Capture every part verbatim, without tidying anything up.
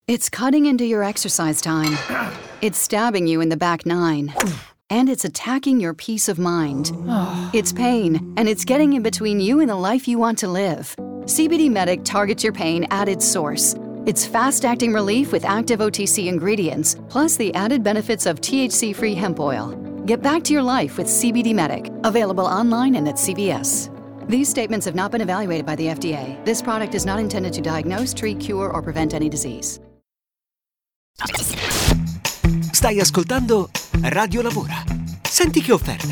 It's cutting into your exercise time. It's stabbing you in the back nine. And it's attacking your peace of mind. It's pain, and it's getting in between you and the life you want to live. C B D Medic targets your pain at its source. It's fast-acting relief with active O T C ingredients, plus the added benefits of T H C-free hemp oil. Get back to your life with C B D Medic, available online and at C V S. These statements have not been evaluated by the F D A. This product is not intended to diagnose, treat, cure, or prevent any disease. Stai ascoltando Radio Lavora. Senti che offerta.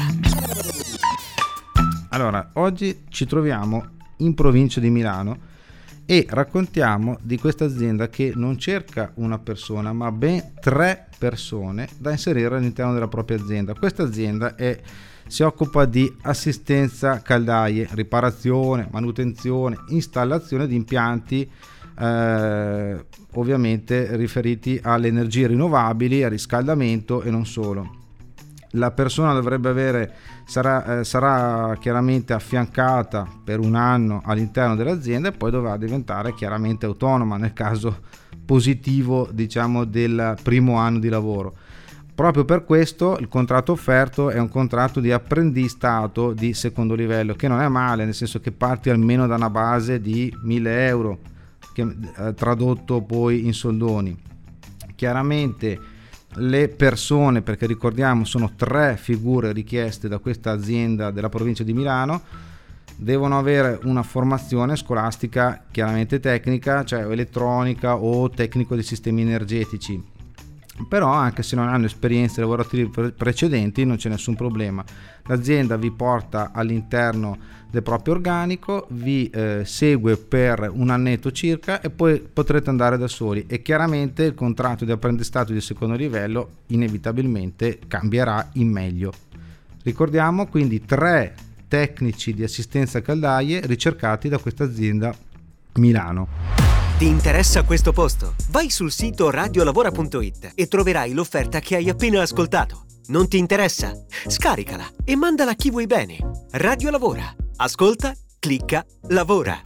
Allora, oggi ci troviamo in provincia di Milano e raccontiamo di questa azienda che non cerca una persona, ma ben tre persone da inserire all'interno della propria azienda. Questa azienda è, si occupa di assistenza caldaie, riparazione, manutenzione, installazione di impianti eh, ovviamente riferiti alle energie rinnovabili, al riscaldamento e non solo. La persona dovrebbe avere sarà, eh, sarà chiaramente affiancata per un anno all'interno dell'azienda e poi dovrà diventare chiaramente autonoma nel caso positivo, diciamo, del primo anno di lavoro. Proprio per questo il contratto offerto è un contratto di apprendistato di secondo livello, che non è male, nel senso che parti almeno da una base di mille euro, che, eh, tradotto poi in soldoni. Chiaramente le persone, perché ricordiamo sono tre figure richieste da questa azienda della provincia di Milano, devono avere una formazione scolastica chiaramente tecnica, cioè elettronica o tecnico di sistemi energetici. Però anche se non hanno esperienze lavorative precedenti non c'è nessun problema. L'azienda vi porta all'interno del proprio organico, vi eh, segue per un annetto circa e poi potrete andare da soli, e chiaramente il contratto di apprendistato di secondo livello inevitabilmente cambierà in meglio. Ricordiamo quindi tre tecnici di assistenza caldaie ricercati da questa azienda Milano. Ti interessa questo posto? Vai sul sito radiolavora punto it e troverai l'offerta che hai appena ascoltato. Non ti interessa? Scaricala e mandala a chi vuoi bene. Radio Lavora. Ascolta, clicca, lavora.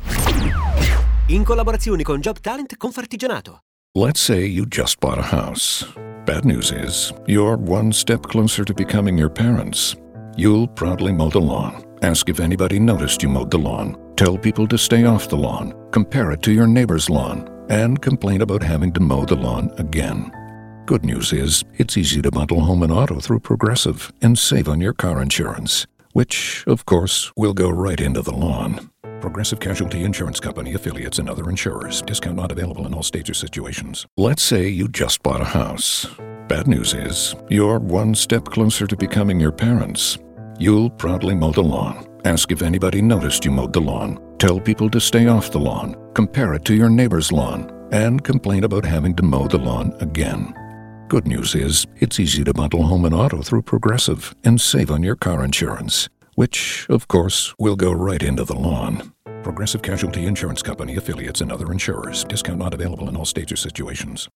In collaborazione con Job Talent Confartigianato. Let's say you just bought a house. Bad news is, you're one step closer to becoming your parents. You'll proudly mow the lawn. Ask if anybody noticed you mowed the lawn. Tell people to stay off the lawn. Compare it to your neighbor's lawn. And complain about having to mow the lawn again. Good news is, it's easy to bundle home and auto through Progressive and save on your car insurance, which, of course, will go right into the lawn. Progressive Casualty Insurance Company, affiliates, and other insurers. Discount not available in all states or situations. Let's say you just bought a house. Bad news is, you're one step closer to becoming your parents. You'll proudly mow the lawn. Ask if anybody noticed you mowed the lawn. Tell people to stay off the lawn. Compare it to your neighbor's lawn. And complain about having to mow the lawn again. Good news is, it's easy to bundle home and auto through Progressive and save on your car insurance, which, of course, will go right into the lawn. Progressive Casualty Insurance Company, affiliates, and other insurers. Discount not available in all states or situations.